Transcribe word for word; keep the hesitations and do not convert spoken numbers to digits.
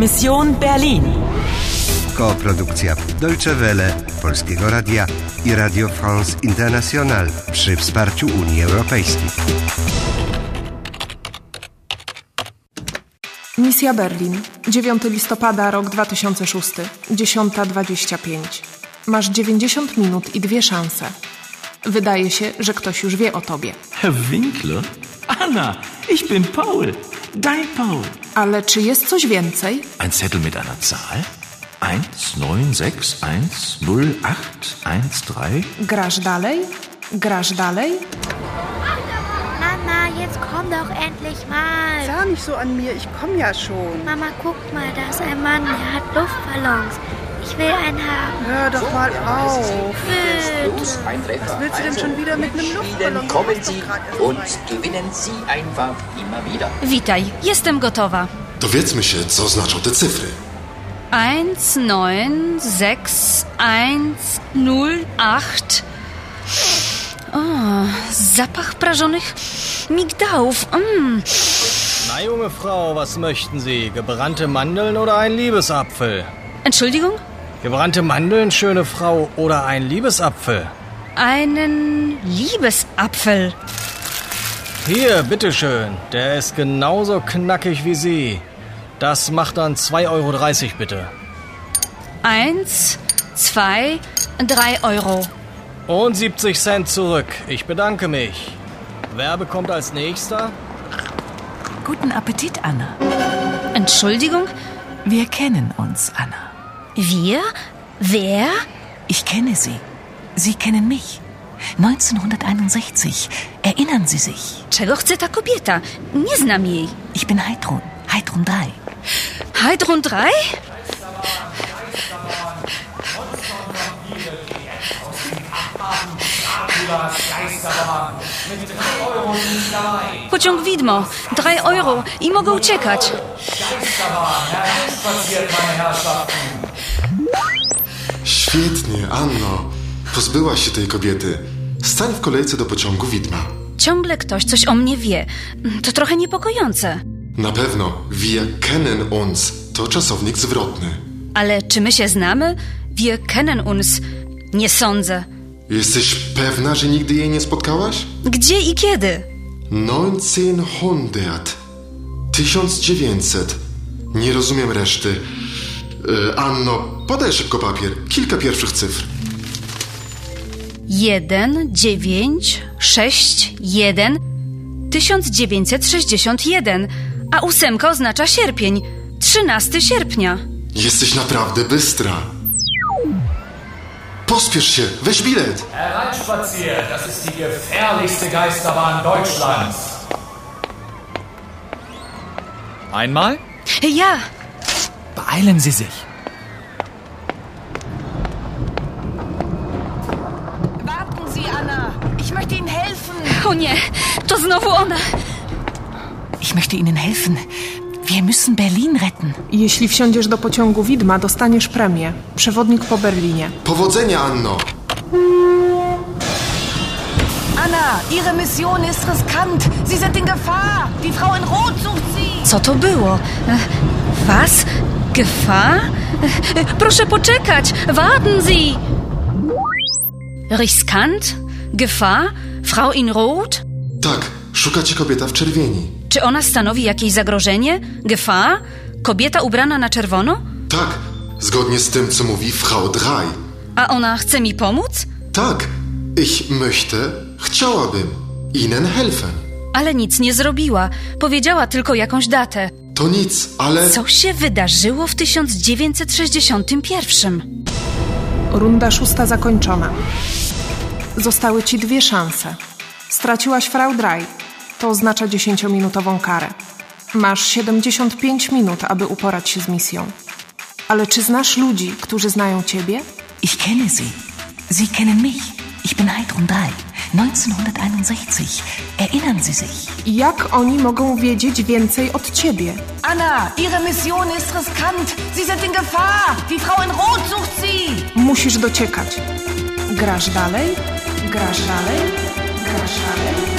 Mission Berlin. Koprodukcja Deutsche Welle, Polskiego Radia i Radio France International przy wsparciu Unii Europejskiej. Misja Berlin. dziewiątego listopada, rok dwa tysiące szósty. dziesiąta dwadzieścia pięć. Masz dziewięćdziesiąt minut i dwie szanse. Wydaje się, że ktoś już wie o tobie. Herr Winkler? Anna, ich bin Paul. Dein Paul. Ale czy jest coś więcej? Ein Zettel mit einer Zahl? eins, neun, sechs, eins, null, acht, eins, drei. Grasz dalej? Grasz dalej? Mama, jetzt komm doch endlich mal. Sag nicht so an mir, ich komm ja schon. Mama, guck mal, da ist ein Mann, der hat Luftballons. Ich will einen haben. Hör doch mal auf. Bitte. Was willst du denn schon wieder mit einem Luftballon? Kommen Sie und gewinnen Sie einfach immer wieder. Witaj, jestem gotowa. Dowiedzmy się, co znaczą te cyfry. eins, neun, sechs, eins, null, acht. O, zapach prażonych migdałów. Mm. Na, junge Frau, was möchten Sie? Gebrannte Mandeln oder ein Liebesapfel? Entschuldigung? Gebrannte Mandeln, schöne Frau, oder ein Liebesapfel? Einen Liebesapfel. Hier, bitteschön. Der ist genauso knackig wie Sie. Das macht dann zwei Euro dreißig, bitte. Eins, zwei, drei Euro. Und siebzig Cent zurück. Ich bedanke mich. Wer bekommt als Nächster? Guten Appetit, Anna. Entschuldigung? Wir kennen uns, Anna. Wir? Wer? Ich kenne Sie. Sie kennen mich. neunzehnhunderteinundsechzig. Erinnern Sie sich? Czego chce ta kobieta? Nie znam jej. Ich bin Heidrun. Heidrun drei. Heidrun drei? Pociąg widmo. Drei Euro. I mogę uciekać. Świetnie, Anno. Pozbyłaś się tej kobiety. Stań w kolejce do pociągu widma. Ciągle ktoś coś o mnie wie. To trochę niepokojące. Na pewno. Wir kennen uns. To czasownik zwrotny. Ale czy my się znamy? Wir kennen uns. Nie sądzę. Jesteś pewna, że nigdy jej nie spotkałaś? Gdzie i kiedy? neunzehnhundert. tysiąc dziewięćset. Nie rozumiem reszty. Yy, Anno, podaj szybko papier. Kilka pierwszych cyfr. Jeden, dziewięć, sześć, jeden, tysiąc dziewięćset sześćdziesiąt jeden, a ósemka oznacza sierpień, trzynastego sierpnia. Jesteś naprawdę bystra. Pospiesz się, weź bilet. Hereinspaziert, das ist die gefährlichste Geisterbahn Deutschlands. Einmal? Ja. Beeilen Sie sich. Warten Sie, Anna. Ich möchte Ihnen helfen. O nie, to znowu ona. Ich möchte Ihnen helfen. Wir müssen Berlin retten. Jeśli wsiądziesz do pociągu widma, dostaniesz premię. Przewodnik po Berlinie. Powodzenia, Anno. Anna, Ihre Mission ist riskant. Sie sind in Gefahr. Die Frau in Rot sucht Sie. Co to było? Was? Gefahr? Proszę poczekać. Warten Sie. Riskant? Gefahr? Frau in Rot? Tak, szuka cię kobieta w czerwieni. Czy ona stanowi jakieś zagrożenie? Gefahr? Kobieta ubrana na czerwono? Tak, zgodnie z tym, co mówi Frau drei. A ona chce mi pomóc? Tak, ich möchte, chciałabym, Ihnen helfen. Ale nic nie zrobiła. Powiedziała tylko jakąś datę. To nic, ale... Co się wydarzyło w tysiąc dziewięćset sześćdziesiątym pierwszym? Runda szósta zakończona. Zostały ci dwie szanse. Straciłaś Frau drei. To oznacza dziesięciominutową karę. Masz siedemdziesiąt pięć minut, aby uporać się z misją. Ale czy znasz ludzi, którzy znają ciebie? Ich kenne Sie. Sie kennen mich. Ich bin Heidrun drei. neunzehnhunderteinundsechzig. Erinnern Sie sich? Jak oni mogą wiedzieć więcej od ciebie? Anna, Ihre Mission ist riskant. Sie sind in Gefahr. Die Frau in Rot sucht Sie. Musisz dociekać. Grasz dalej? Grasz dalej? Grasz dalej?